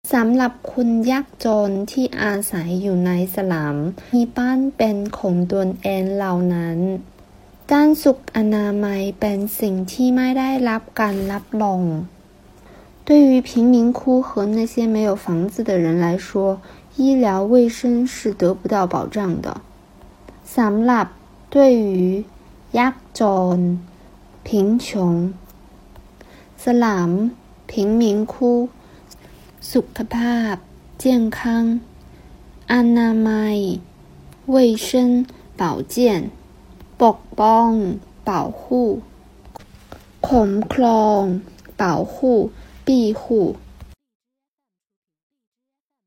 สำหรับคนยากจนที่อาศัยอยู่ในสลัมมีบ้านเป็นของตนเองเหล่านั้นด้านสุขอนามัยเป็นสิ่งที่ไม่ได้รับการรับรอง对于贫民窟和那些没有房子的人来说，医疗卫生是得不到保障的。สำหรับ对于ยากจน贫穷สลัม贫民窟สุขภาพ健康อนามัย卫生保健ปกป้อง保护คุ้มครอง保护庇护